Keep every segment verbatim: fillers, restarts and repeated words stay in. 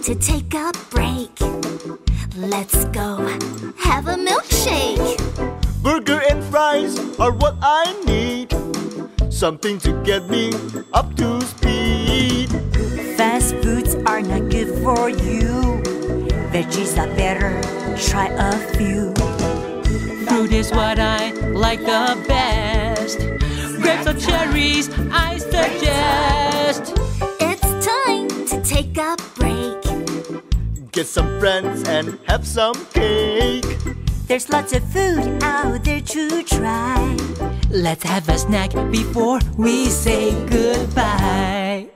to take a break. Let's go have a milkshake. Burger and fries are what I need. Something to get me up to speed. Fast foods are not good for you. Veggies are better, try a few. Fruit is what I like the best. Grapes or cherries, I suggest. It's time to take a break. Get some friends and have some cake. There's lots of food out there to try. Let's have a snack before we say goodbye.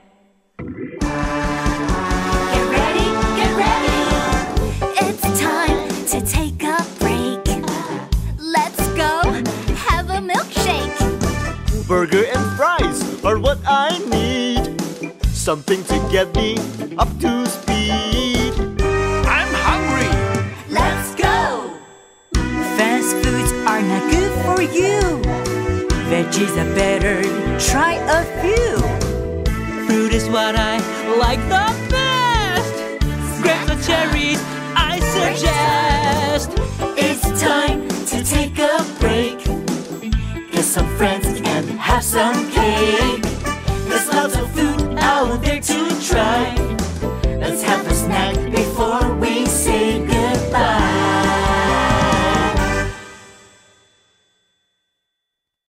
Get ready, get ready. It's time to take a break. Let's go have a milkshake. Burger and fries are what I need. Something to get me up to speed. I'm hungry. Let's go. Fast foods are not good for you. Veggies are better, try a few. Fruit is what I like the best. Grapes or cherries, I suggest. It's time to take a break. Get some friends and have some